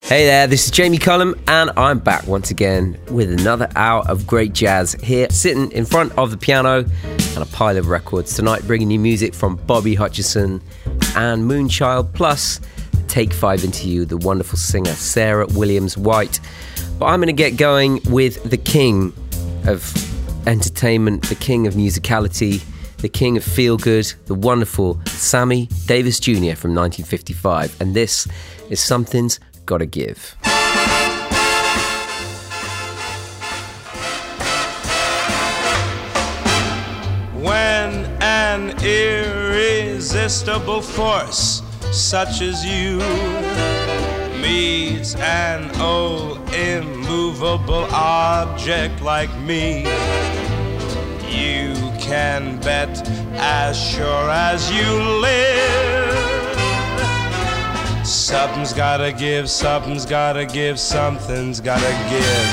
Hey there, this is Jamie Cullum, and I'm back once again with another hour of great jazz here, sitting in front of the piano and a pile of records tonight, bringing you music from Bobby Hutcherson and Moonchild, plus Take 5 Into You, the wonderful singer Sarah Williams-White. But I'm going to get going with the king of entertainment, the king of musicality, the king of feel-good, the wonderful Sammy Davis Jr. from 1955. And this is Something's Gotta Give. When an irresistible force such as you meets an old immovable object like me, you can bet as sure as you live, something's gotta give, something's gotta give, something's gotta give.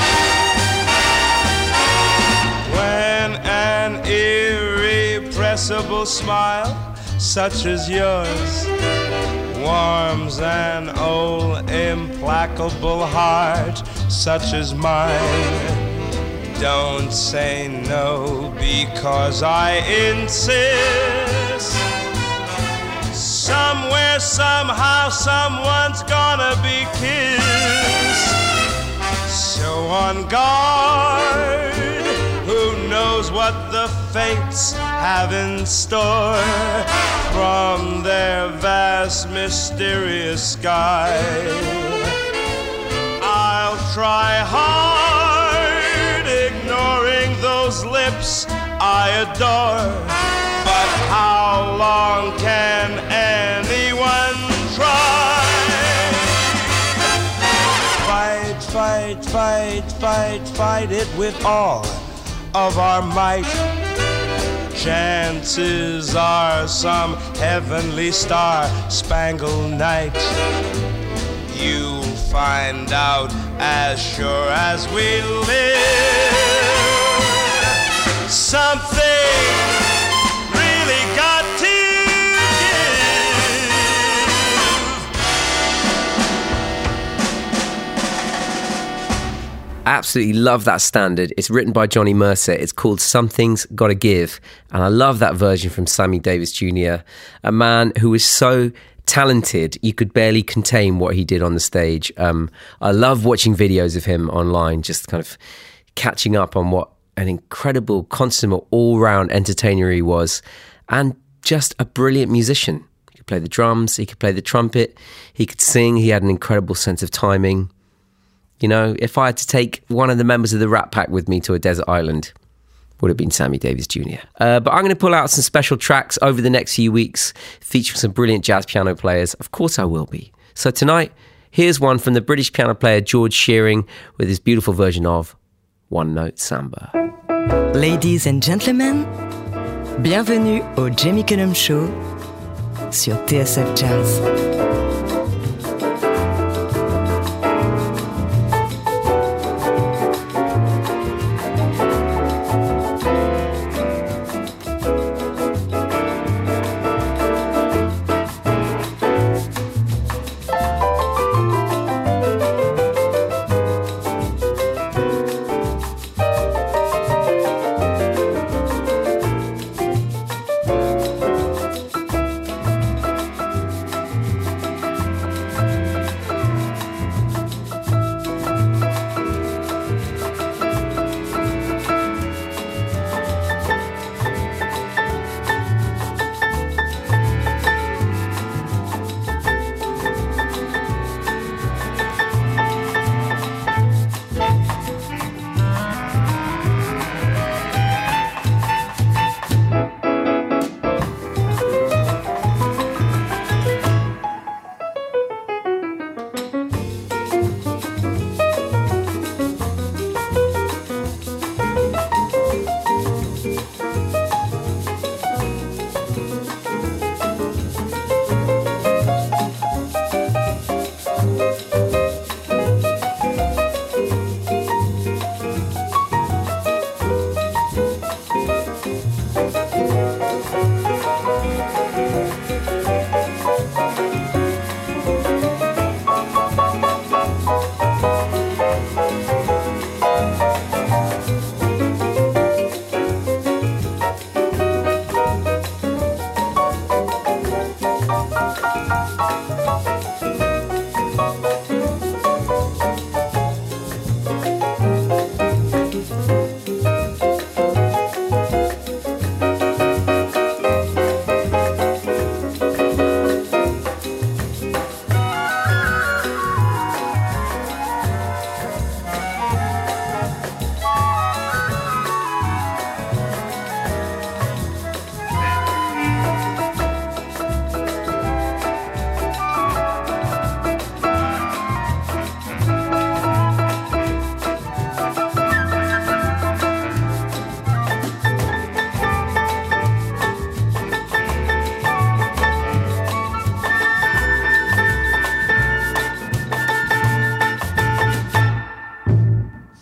When an irrepressible smile such as yours warms an old implacable heart such as mine, don't say no because I insist. Somewhere, somehow, someone's gonna be kissed. So on guard, who knows what the fates have in store from their vast, mysterious sky. I'll try hard, ignoring those lips I adore. But how long can anyone try? Fight, fight, fight, fight, fight it with all of our might. Chances are some heavenly star-spangled night you'll find out as sure as we live. Something really got to Absolutely love that standard. It's written by Johnny Mercer. It's called Something's Gotta Give. And I love that version from Sammy Davis Jr., a man who is so talented, you could barely contain what he did on the stage. I love watching videos of him online, just kind of catching up on what an incredible, consummate, all-round entertainer he was, and just a brilliant musician. He could play the drums, he could play the trumpet, he could sing, he had an incredible sense of timing. You know, if I had to take one of the members of the Rat Pack with me to a desert island, would have been Sammy Davis Jr. But I'm going to pull out some special tracks over the next few weeks, featuring some brilliant jazz piano players. Of course I will be. So tonight, here's one from the British piano player George Shearing with his beautiful version of One Note Samba. Ladies and gentlemen, bienvenue au Jamie Cullum Show sur TSF Jazz.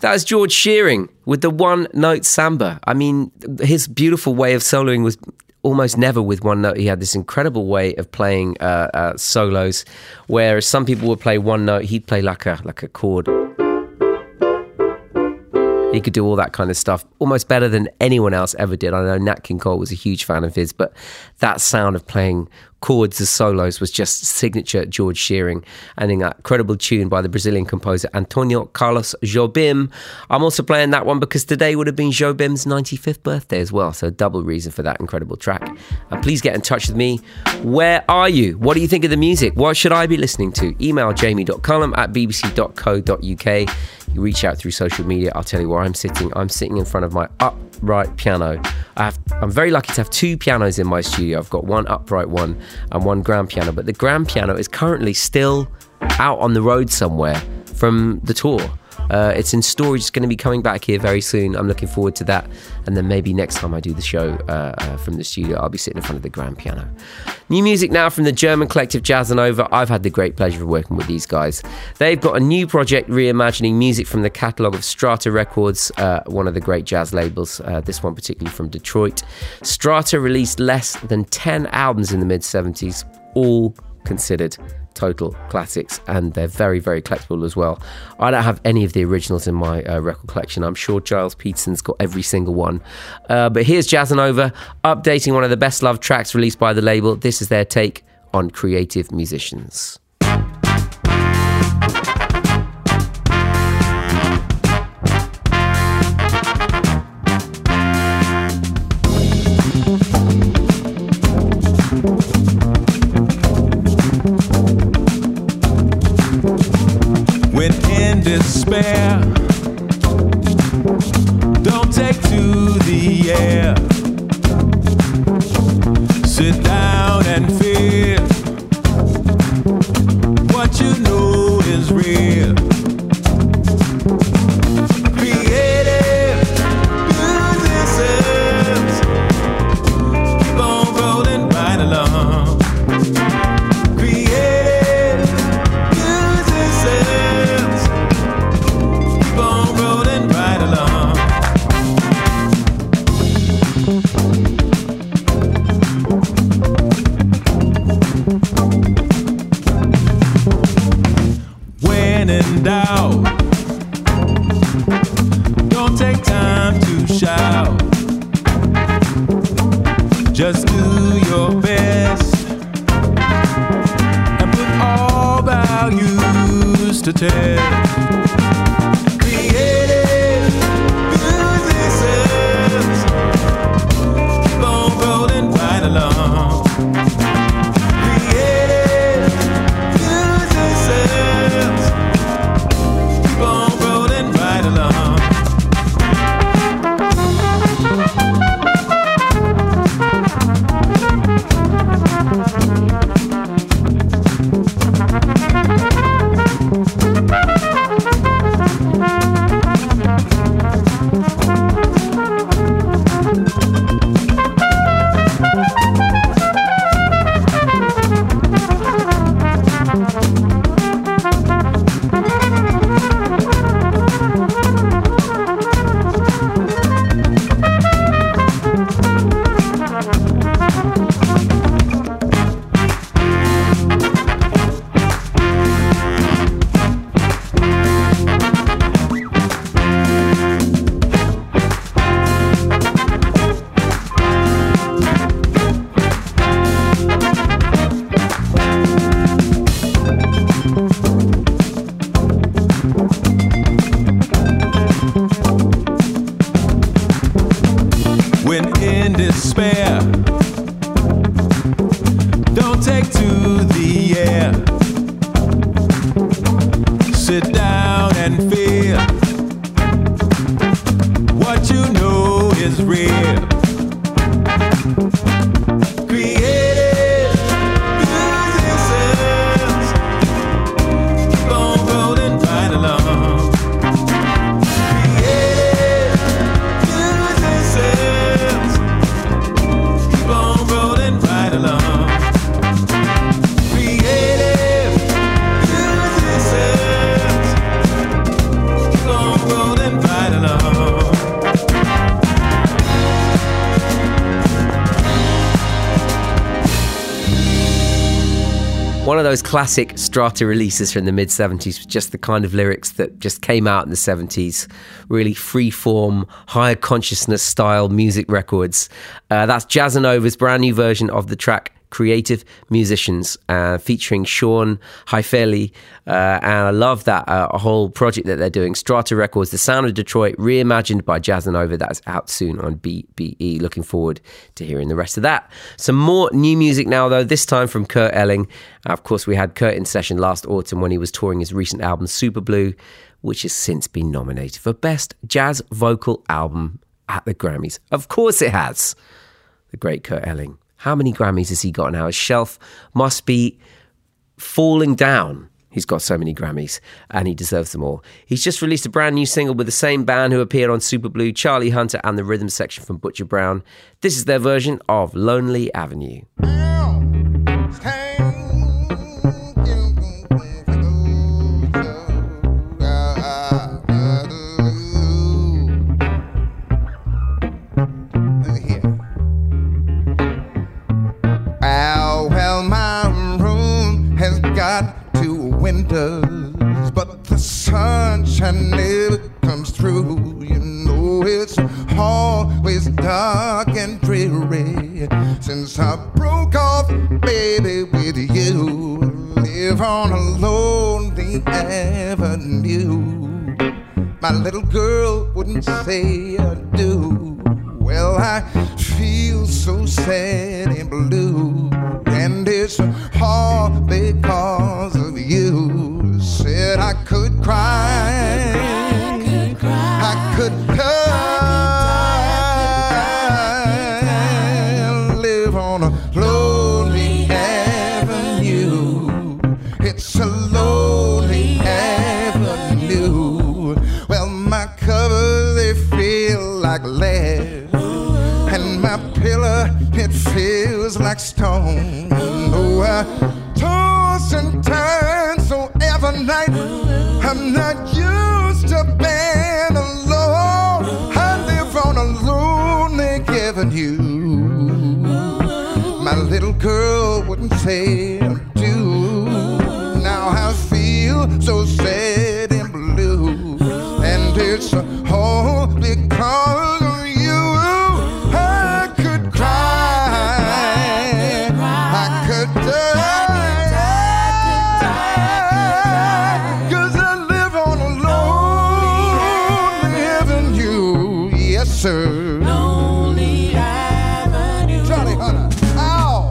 That's George Shearing with the one-note samba. I mean, his beautiful way of soloing was almost never with one note. He had this incredible way of playing solos, whereas some people would play one note, he'd play like a chord. He could do all that kind of stuff almost better than anyone else ever did. I know Nat King Cole was a huge fan of his, but that sound of playing chords as solos was just signature George Shearing, and in that incredible tune by the Brazilian composer Antonio Carlos Jobim. I'm also playing that one because today would have been Jobim's 95th birthday as well, so double reason for that incredible track. And please get in touch with me. Where are you? What do you think of the music? What should I be listening to? Email jamie.cullum@bbc.co.uk. You reach out through social media. I'll tell you where I'm sitting. I'm sitting in front of my upright piano. I'm very lucky to have two pianos in my studio. I've got one upright one and one grand piano, but the grand piano is currently still out on the road somewhere from the tour. It's in storage. It's going to be coming back here very soon. I'm looking forward to that. And then maybe next time I do the show from the studio, I'll be sitting in front of the grand piano. New music now from the German collective Jazzanova. I've had the great pleasure of working with these guys. They've got a new project reimagining music from the catalogue of Strata Records, one of the great jazz labels, this one particularly from Detroit. Strata released less than 10 albums in the mid-70s, all considered total classics, and they're very, very collectible as well. I don't have any of the originals in my record collection. I'm sure Giles Peterson's got every single one. But here's Jazzanova updating one of the best loved tracks released by the label. This is their take on creative musicians. Despair, don't take to the air. Sit down and feel what you know is real. Creative musicians keep on rolling right along. Creative musicians keep on rolling right along. When in doubt, don't take time to shout. Just do your best and put all values to test. Creative musicians keep on rolling right along. Creative musicians keep on rolling right along. When in despair, don't take to the air. Sit down and feel what you know is real. Creative musicians keep on rolling right along. Creative musicians keep on rolling right along. Creative musicians One of those classic Strata releases from the mid-70s, just the kind of lyrics that just came out in the 70s. Really free-form, higher consciousness style music records. That's Jazzanova's brand new version of the track Creative Musicians, featuring Sean Haifeli, and I love that a whole project that they're doing. Strata Records, The Sound of Detroit, reimagined by Jazzanova. That's out soon on BBE. Looking forward to hearing the rest of that. Some more new music now, though, this time from Kurt Elling. Of course, we had Kurt in session last autumn when he was touring his recent album Super Blue, which has since been nominated for Best Jazz Vocal Album at the Grammys. Of course it has. The great Kurt Elling. How many Grammys has he got now? His shelf must be falling down. He's got so many Grammys, and he deserves them all. He's just released a brand new single with the same band who appeared on Super Blue, Charlie Hunter and the rhythm section from Butcher Brown. This is their version of Lonely Avenue. Windows, but the sunshine never comes through. You know it's always dark and dreary since I broke off, baby, with you. Live on a lonely avenue. My little girl wouldn't say I do. Well, I feel so sad and blue, and it's all because of you. Said I could cry, I could die, live on a lonely avenue. It's a lonely avenue. Well, my covers, they feel like lead, and my pillow, it feels like stone. Oh, I toss and turn so every night. I'm not used to being alone. I live on a lonely avenue. My little girl wouldn't say I do. Now I feel so sad and blue, and it's all because of you. I could cry, I could die, 'cause I live on a lonely avenue. Yes, sir. Lonely avenue. Charlie Hunter. Ow!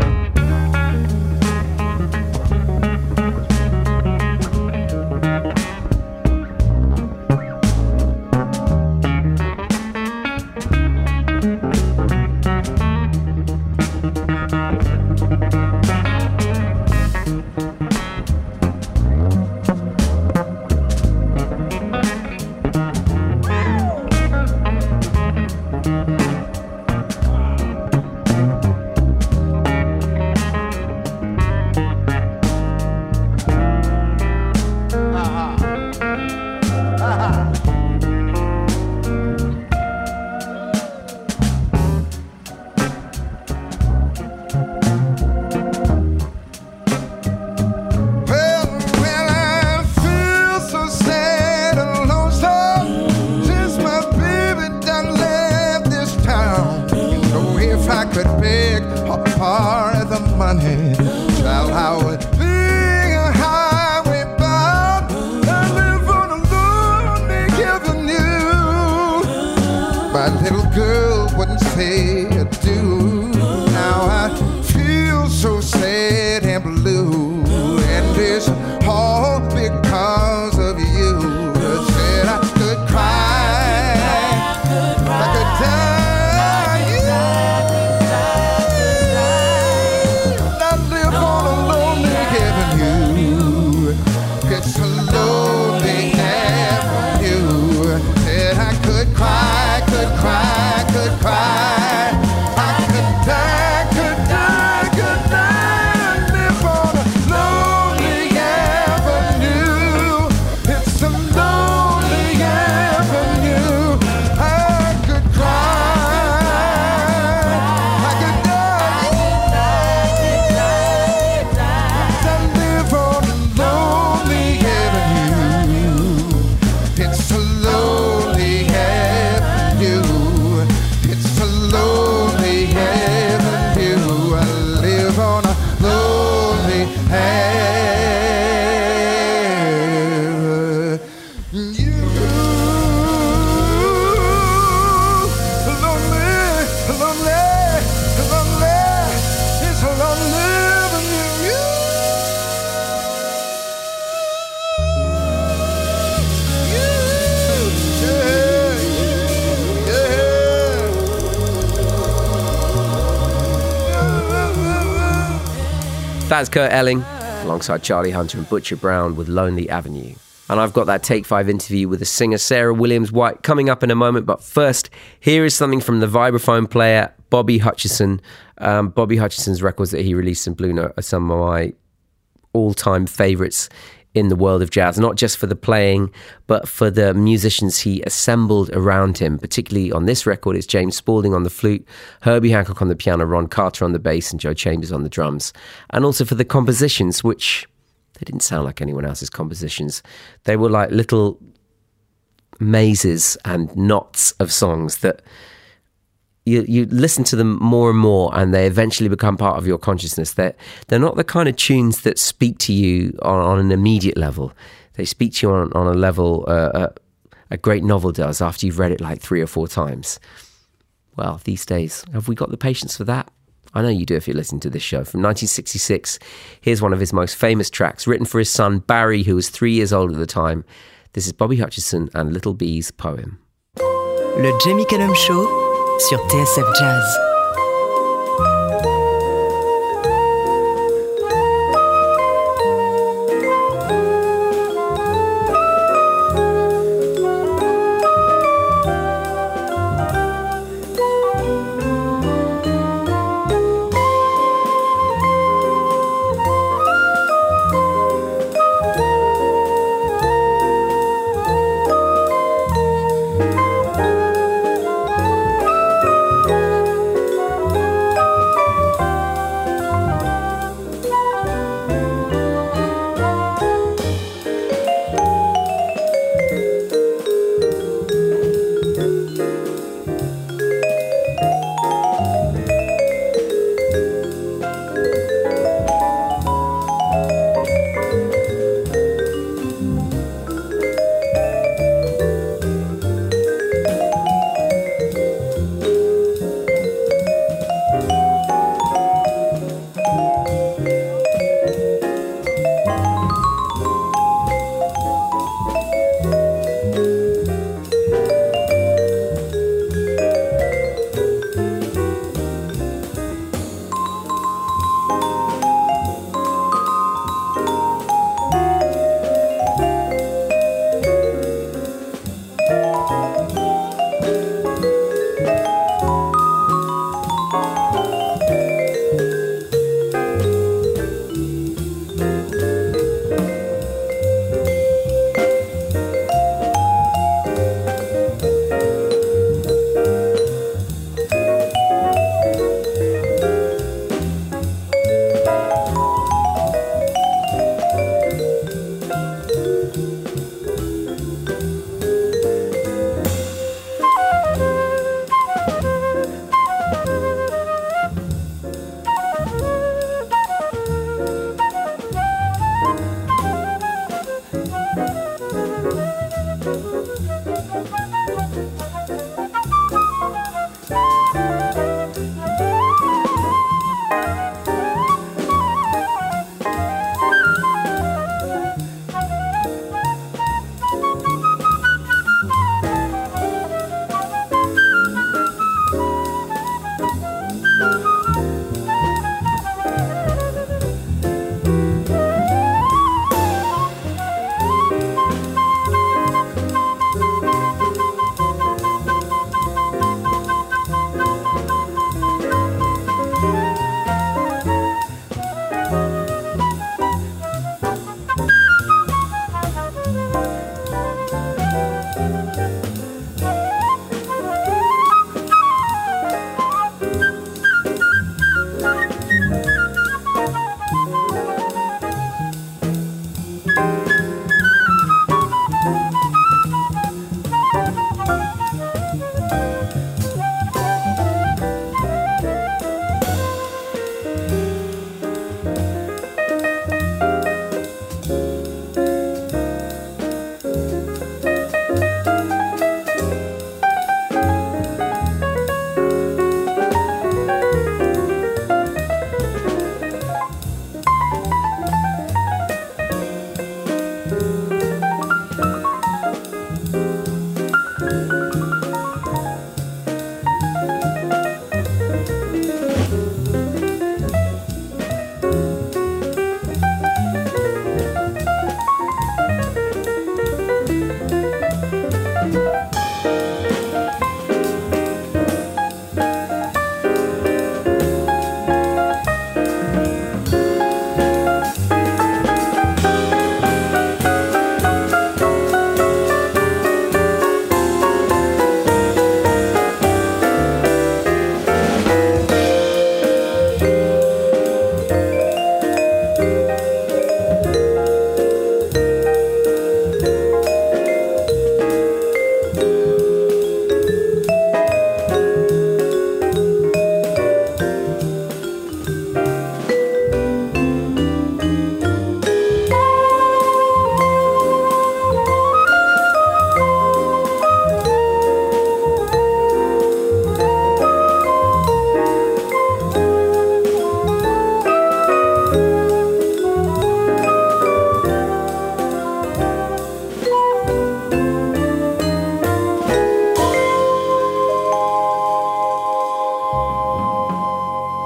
That's Kurt Elling, alongside Charlie Hunter and Butcher Brown with Lonely Avenue. And I've got that Take 5 interview with the singer Sarah Williams-White coming up in a moment. But first, here is something from the vibraphone player, Bobby Hutcherson. Bobby Hutcherson's records that he released in Blue Note are some of my all-time favourites in the world of jazz, not just for the playing, but for the musicians he assembled around him. Particularly on this record, it's James Spaulding on the flute, Herbie Hancock on the piano, Ron Carter on the bass, and Joe Chambers on the drums. And also for the compositions, which they didn't sound like anyone else's compositions. They were like little mazes and knots of songs that you listen to them more and more, and they eventually become part of your consciousness. They're not the kind of tunes that speak to you on an immediate level. They speak to you on a level a great novel does after you've read it like 3 or 4 times. Well, these days, have we got the patience for that? I know you do if you listen to this show. From 1966, here's one of his most famous tracks, written for his son Barry, who was 3 years old at the time. This is Bobby Hutcherson and Little B's poem. Le Jamie Cullum Show sur TSF Jazz.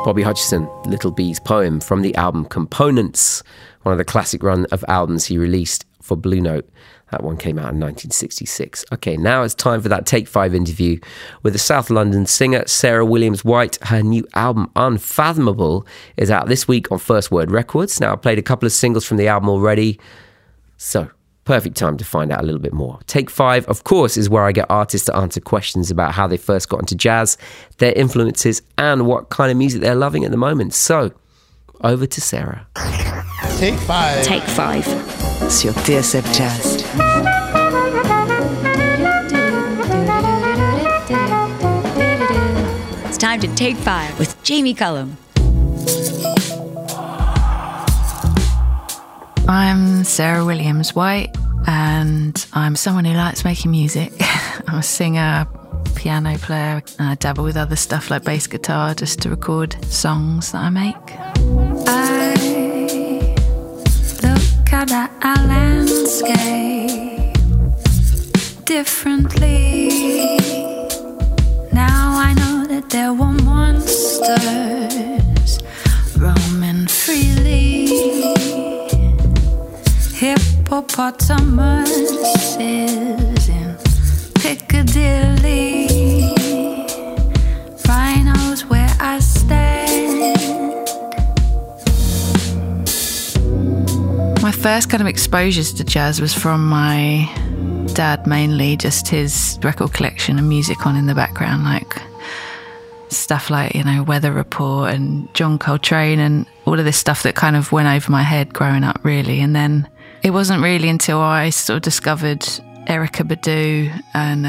Bobby Hutcherson, Little B's poem from the album Components, one of the classic run of albums he released for Blue Note. That one came out in 1966. Okay, now it's time for that Take 5 interview with the South London singer Sarah Williams-White. Her new album, Unfathomable, is out this week on First Word Records. Now, I played a couple of singles from the album already, so perfect time to find out a little bit more. Take 5, of course, is where I get artists to answer questions about how they first got into jazz, their influences, and what kind of music they're loving at the moment. So, over to Sarah. Take 5. Take 5 sur TSF Jazz. It's time to Take 5 with Jamie Cullum. I'm Sarah Williams-White, and I'm someone who likes making music. I'm a singer, piano player, and I dabble with other stuff like bass guitar just to record songs that I make. I look at our landscape differently. Now I know that there were monsters roaming freely. Hippopotamuses in Piccadilly. Rhinos where I stand. My first kind of exposures to jazz was from my dad mainly, just his record collection and music on in the background, like stuff like, you know, Weather Report and John Coltrane and all of this stuff that kind of went over my head growing up, really. And then it wasn't really until I sort of discovered Erykah Badu and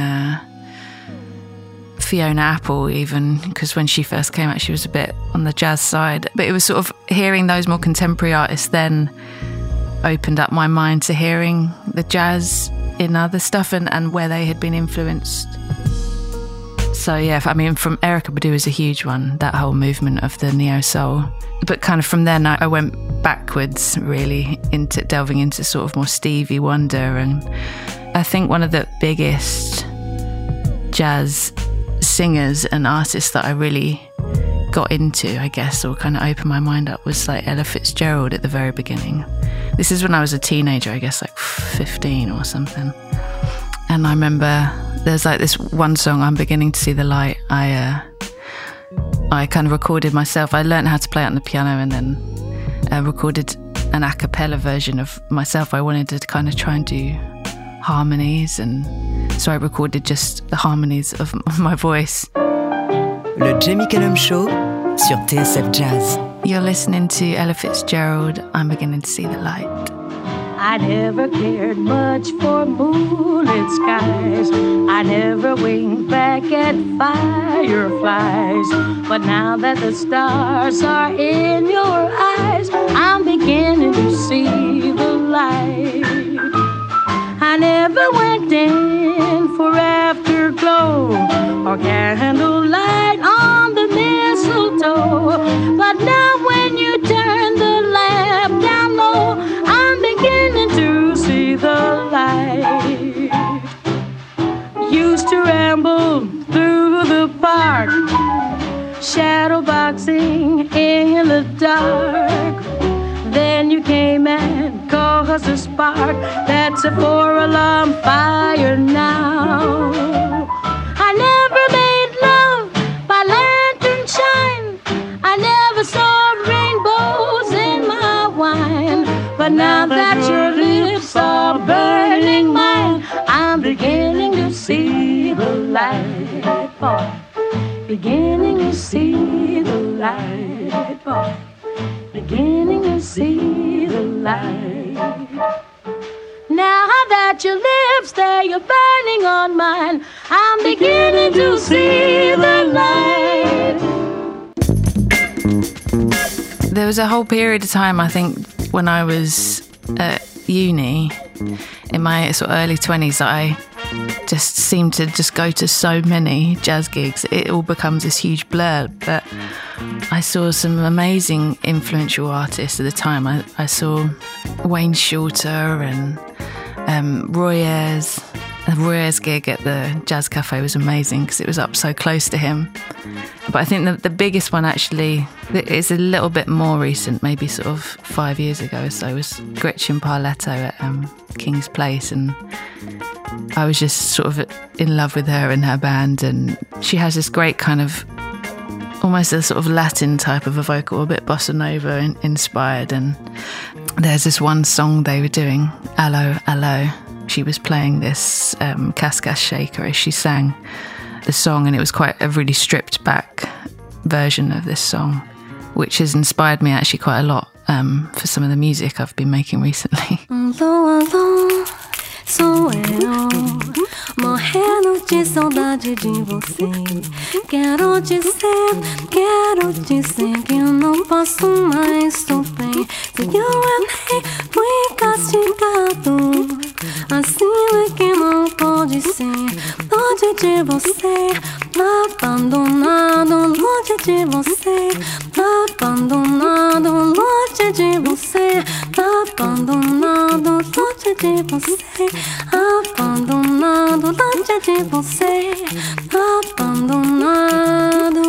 Fiona Apple, even, because when she first came out, she was a bit on the jazz side. But it was sort of hearing those more contemporary artists then opened up my mind to hearing the jazz in other stuff and where they had been influenced. So yeah, I mean, from Erykah Badu is a huge one, that whole movement of the neo-soul. But kind of from then I went backwards, really, into delving into sort of more Stevie Wonder. And I think one of the biggest jazz singers and artists that I really got into, I guess, or kind of opened my mind up, was like Ella Fitzgerald at the very beginning. This is when I was a teenager, I guess, like 15 or something. And I remember there's like this one song, I'm Beginning to See the Light. I kind of recorded myself. I learned how to play it on the piano and then recorded an a cappella version of myself. I wanted to kind of try and do harmonies, and so I recorded just the harmonies of my voice. Le Jamie Cullum Show sur TSF Jazz. You're listening to Ella Fitzgerald, I'm Beginning to See the Light. I never cared much for moonlit skies. I never winked back at fireflies. But now that the stars are in your eyes, I'm beginning to see the light. I never went in for afterglow or candlelight on the mistletoe. But now when you turn the lamp down low, I'm beginning to see the light. Used to ramble through the park, shadow boxing in the dark. Then you came and caused a spark that's a 4-alarm fire now. I never made love by lantern shine. I never saw rainbows in my wine. But now that your lips are burning mine, I'm beginning to see the light, boy. Beginning to see the light, boy. Beginning to see the light. Now that your lips there, you're burning on mine, I'm beginning to see the light. There was a whole period of time, I think, when I was at uni, in my sort of early 20s, that I just seemed to just go to so many jazz gigs. It all becomes this huge blur. But I saw some amazing influential artists at the time. I saw Wayne Shorter and Roy Ayers, Roy's gig at the Jazz Cafe was amazing because it was up so close to him. But I think the biggest one actually is a little bit more recent, maybe sort of 5 years ago or so, was Gretchen Parletto at King's Place, and I was just sort of in love with her and her band, and she has this great kind of almost a sort of Latin type of a vocal, a bit bossa nova inspired, and there's this one song they were doing, Allo, Allo. She was playing this cascas shaker as she sang the song, and it was quite a really stripped back version of this song, which has inspired me actually quite a lot for some of the music I've been making recently. Alô, alô, sou eu, morrendo de saudade de você. Quero dizer que eu não posso mais sofrer. Se eu errei, fui castigado. Assim é que não pode ser. Longe de você, abandonado. Longe de você, abandonado. Longe de você, abandonado. Longe de você, abandonado. Longe de você, abandonado.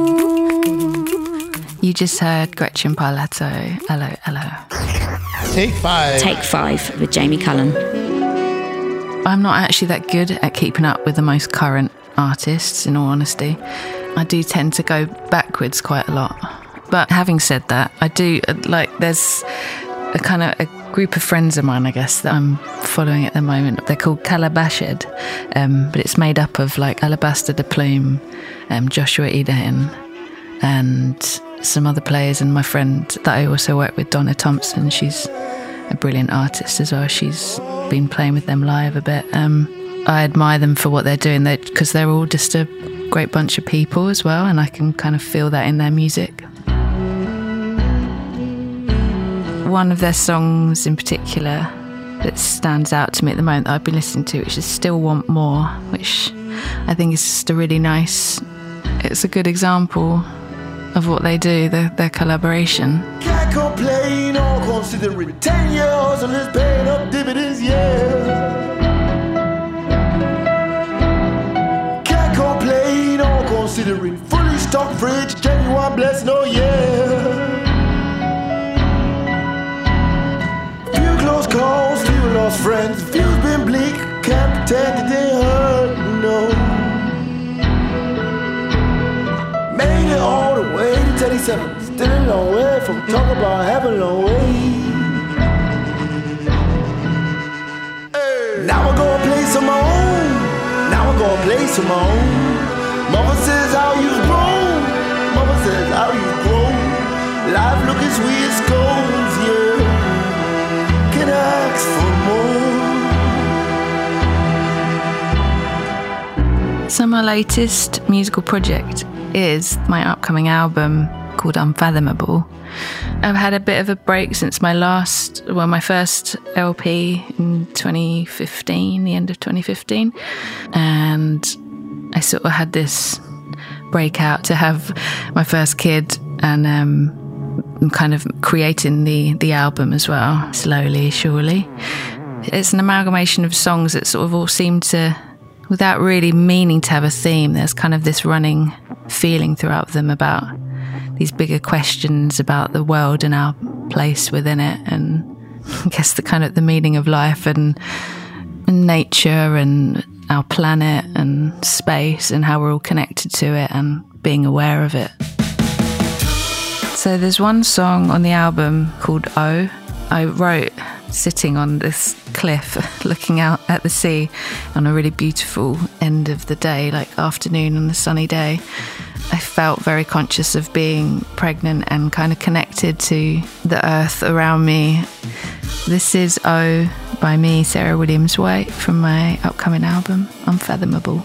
You just heard Gretchen Parletto, Allo, Allo. Take 5. Take 5 with Jamie Cullum. I'm not actually that good at keeping up with the most current artists, in all honesty. I do tend to go backwards quite a lot. But having said that, I do, there's a kind of a group of friends of mine, I guess, that I'm following at the moment. They're called Calabashed, but it's made up of Alabaster de Plume, Joshua Idahin, and some other players, and my friend that I also work with, Donna Thompson. She's a brilliant artist as well. She's been playing with them live a bit. I admire them for what they're doing, because they're all just a great bunch of people as well, and I can kind of feel that in their music. One of their songs in particular that stands out to me at the moment that I've been listening to, which is Still Want More, which I think is just a really nice, it's a good example of what they do, their collaboration. Can't complain or considering 10 years and it's paying up dividends, yeah. Can't complain or considering fully stocked fridge, genuine blessing, oh yeah. Few close calls, few lost friends, few's been bleak, can't pretend that they hurt, no. Made it all the way to 37, still a long way from talking about having a long way. Hey. Now I go a place of my own. Now I go a place of my own. Mama says how you've grown. Mama says how you've grown. Life looking sweet as scones, yeah. Can I ask for more? So my latest musical project is my upcoming album called Unfathomable. I've had a bit of a break since my first LP in 2015, the end of 2015, and I sort of had this breakout to have my first kid, and I'm kind of creating the album as well, slowly, surely. It's an amalgamation of songs that sort of all seem to, without really meaning to have a theme, there's kind of this running feeling throughout them about these bigger questions about the world and our place within it, and I guess the kind of the meaning of life and nature and our planet and space and how we're all connected to it and being aware of it. So there's one song on the album called Oh. I wrote sitting on this cliff looking out at the sea on a really beautiful end of the day, like afternoon on a sunny day. I felt very conscious of being pregnant and kind of connected to the earth around me. This is Oh by me, Sarah Williams-White, from my upcoming album, Unfathomable.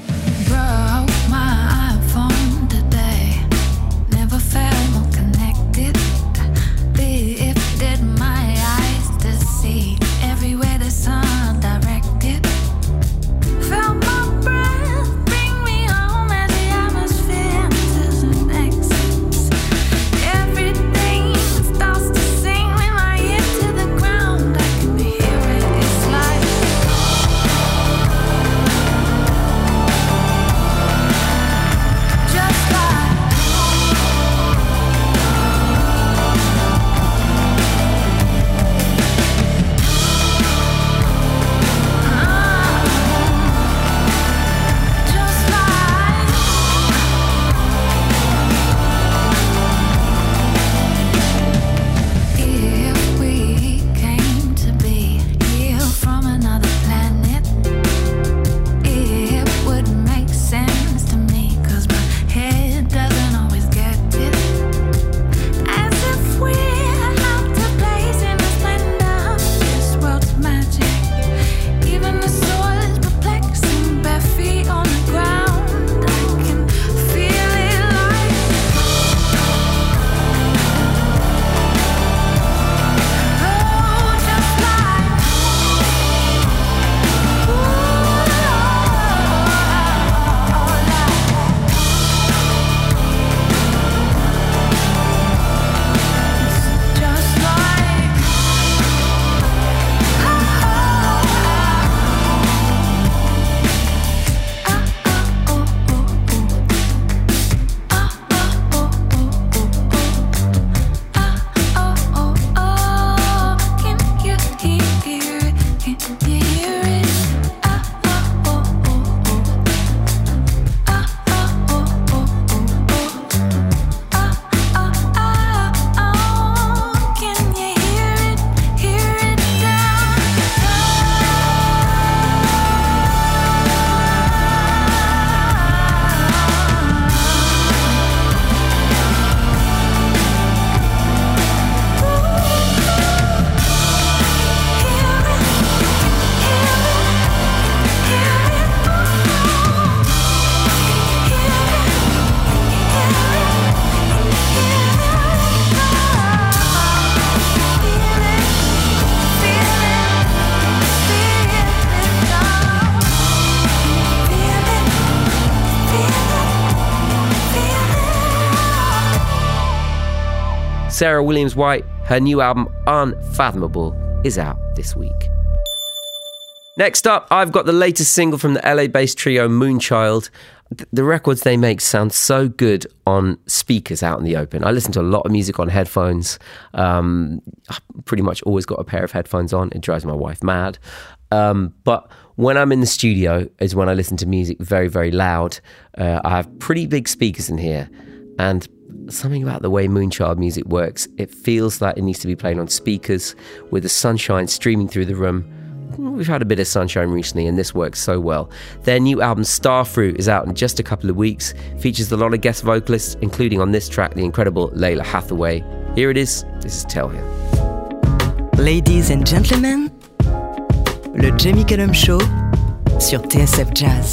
Sarah Williams-White. Her new album, Unfathomable, is out this week. Next up, I've got the latest single from the LA-based trio Moonchild. The records they make sound so good on speakers out in the open. I listen to a lot of music on headphones. I've pretty much always got a pair of headphones on. It drives my wife mad. But when I'm in the studio is when I listen to music very, very loud. I have pretty big speakers in here. And something about the way Moonchild music works, it feels like it needs to be played on speakers with the sunshine streaming through the room. We've had a bit of sunshine recently and this works so well. Their new album Starfruit is out in just a couple of weeks, features a lot of guest vocalists, including on this track the incredible Layla Hathaway. Here it is, this is Tell Him. Ladies and gentlemen, le Jamie Cullum Show sur TSF Jazz.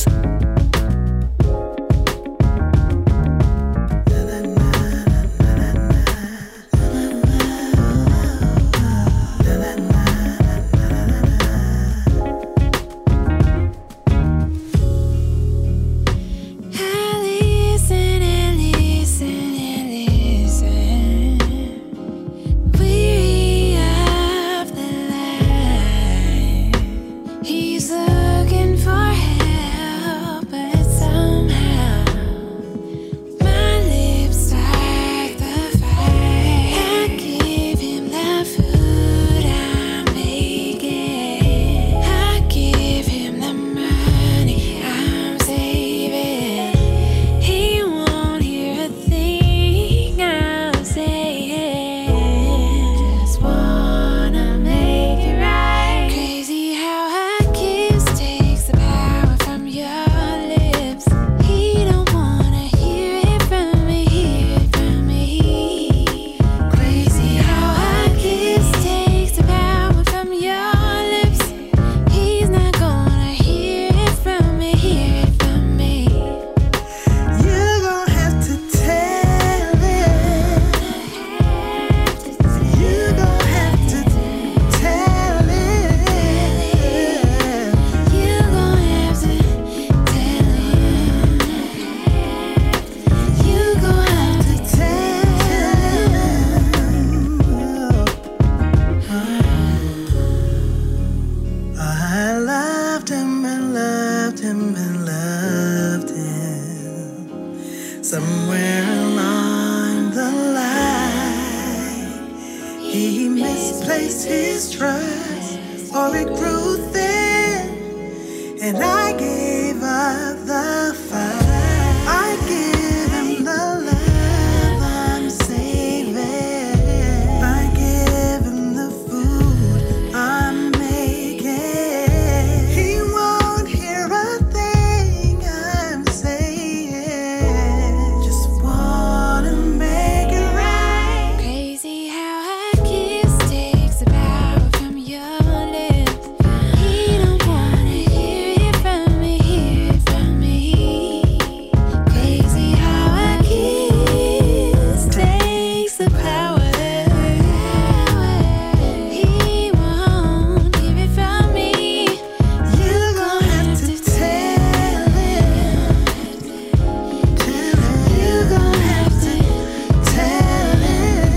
He's looking for Somewhere along the line, he misplaced his trust, or it grew thin, and I gave up the fight. I give him the love I'm saving. I give him the food I'm making. He won't hear a thing I'm saying. Just wanna make it right. Crazy how a kiss takes the power from your lips. He don't wanna hear it from me, hear it from me. Crazy how a kiss takes the power. He won't hear it from me. You're gonna have to tell him. You're gonna have to tell him.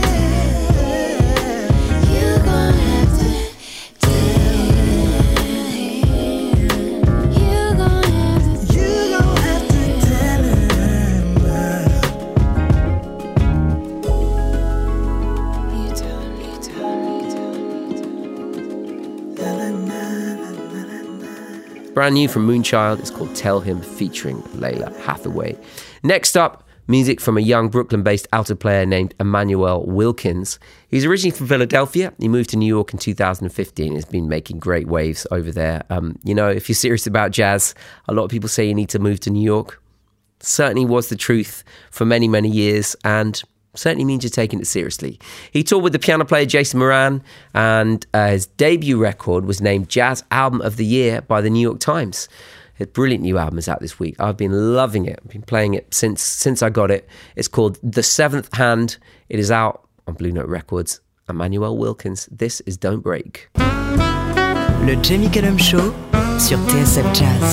You're gonna have to tell him. You're gonna have to You're gonna have to tell him. you tell him, you tell him, you tell him. Brand new from Moonchild, it's called Tell Him, featuring Layla Hathaway. Next up, music from a young Brooklyn-based alto player named Emmanuel Wilkins. He's originally from Philadelphia. He moved to New York in 2015 and has been making great waves over there. If you're serious about jazz, a lot of people say you need to move to New York. Certainly was the truth for many, many years, and certainly means you're taking it seriously. He toured with the piano player Jason Moran, and his debut record was named Jazz Album of the Year by the New York Times. His brilliant new album is out this week. I've been loving it. I've been playing it since I got it. It's called The Seventh Hand. It is out on Blue Note Records. Emmanuel Wilkins, this is Don't Break. Le Jamie Cullum Show sur TSF Jazz.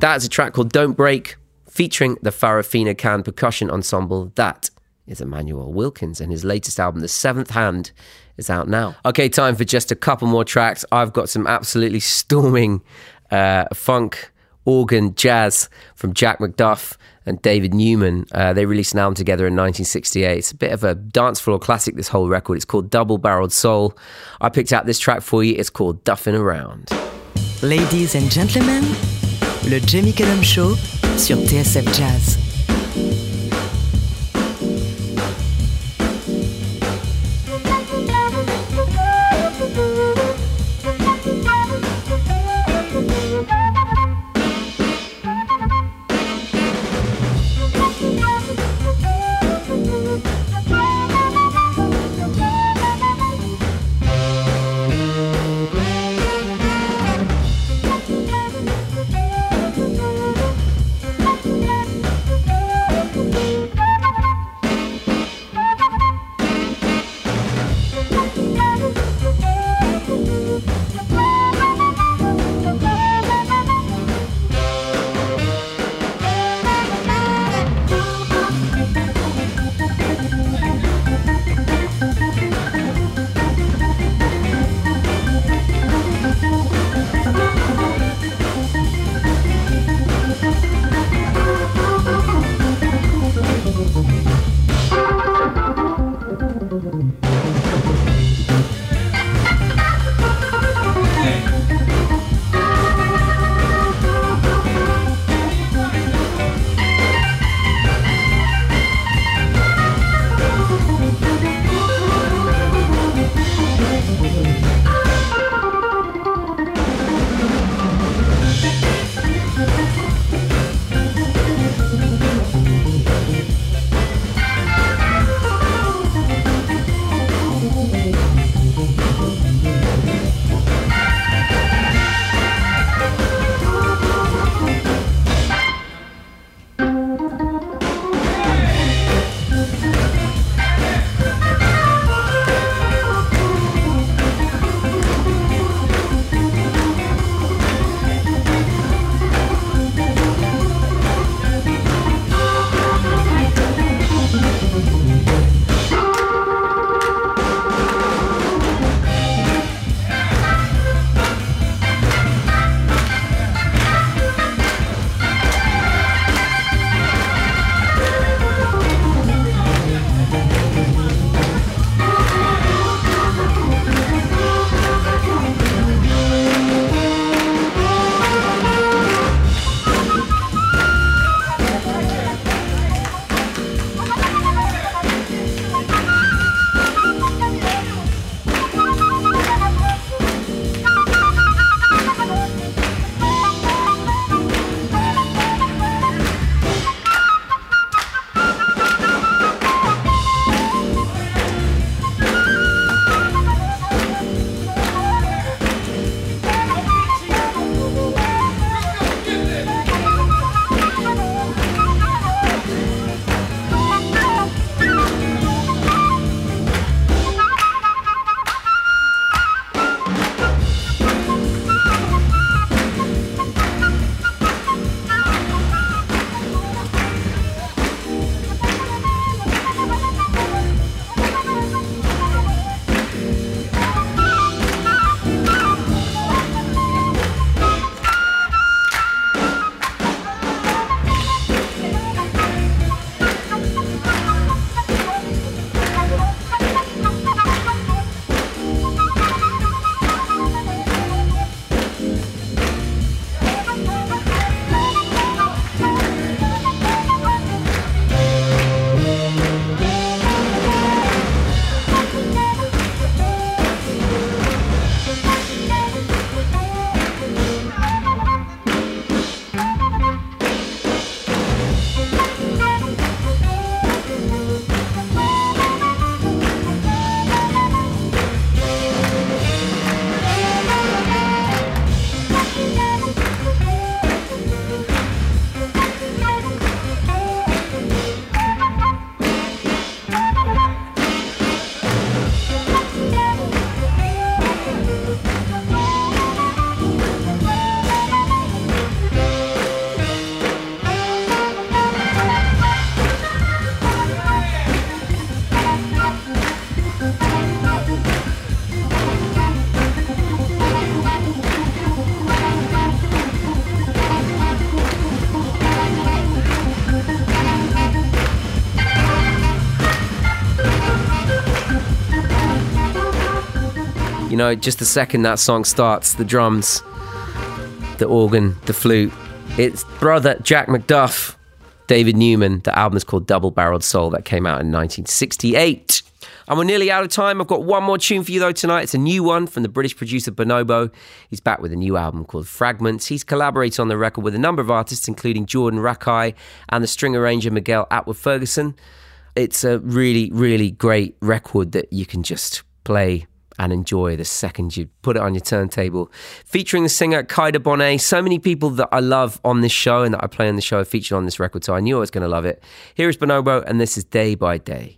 that is a track called Don't Break, featuring the Farafina Khan Percussion Ensemble. That is Emmanuel Wilkins, and his latest album, The Seventh Hand, is out now. Okay, time for just a couple more tracks. I've got some absolutely storming funk, organ, jazz from Jack McDuff and David Newman. They released an album together in 1968. It's a bit of a dance floor classic, this whole record. It's called Double Barreled Soul. I picked out this track for you. It's called Duffin' Around. Ladies and gentlemen, le Jamie Cullum Show sur TSF Jazz. You know, just the second that song starts, the drums, the organ, the flute, it's brother Jack McDuff, David Newman. The album is called Double Barreled Soul. That came out in 1968. And we're nearly out of time. I've got one more tune for you though tonight. It's a new one from the British producer Bonobo. He's back with a new album called Fragments. He's collaborated on the record with a number of artists, including Jordan Rakei and the string arranger Miguel Atwood-Ferguson. It's a really, really great record that you can just play and enjoy the second you put it on your turntable. Featuring the singer Kaida Bonet. So many people that I love on this show and that I play on the show are featured on this record, so I knew I was going to love it. Here is Bonobo, and this is Day by Day.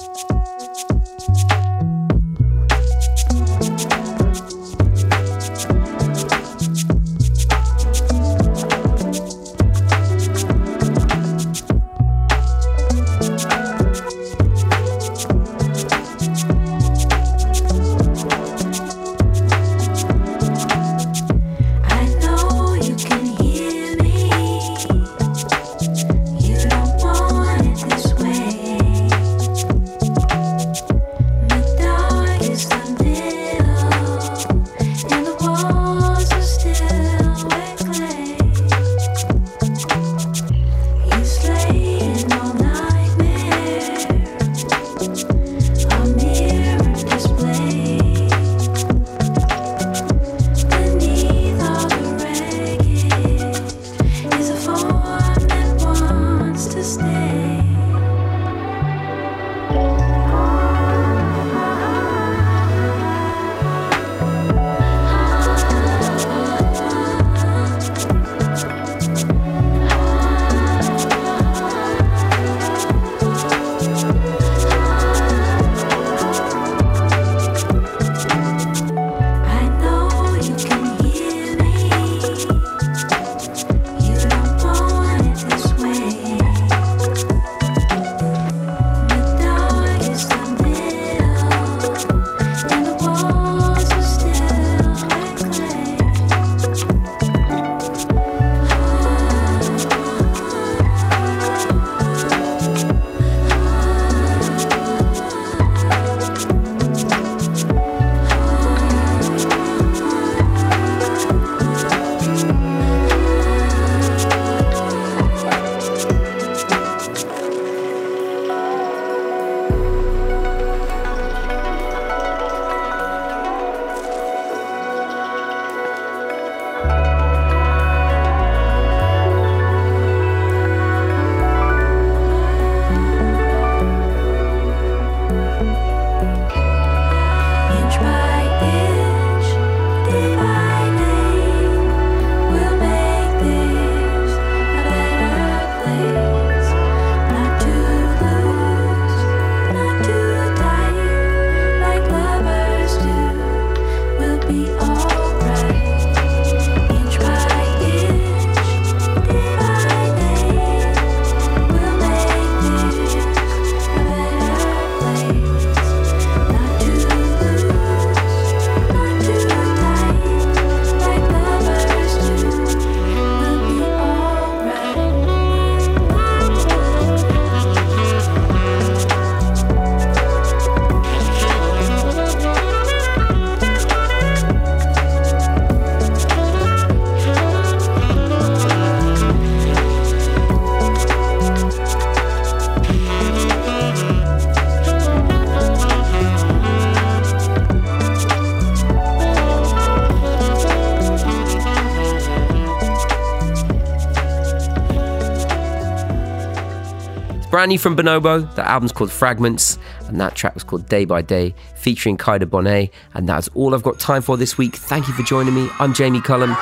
Brand new from Bonobo. The album's called Fragments, and that track was called Day by Day, featuring Kaida Bonet. And that's all I've got time for this week. Thank you for joining me. I'm Jamie Cullum.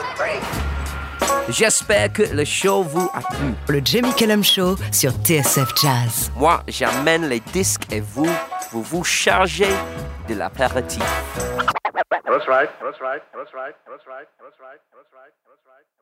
J'espère que le show vous a plu. Le Jamie Cullum Show sur TSF Jazz. Moi, j'amène les disques et vous vous chargez de l'apéritif. That's right. That's right. That's right. That's right. That's right. That's right. That's right.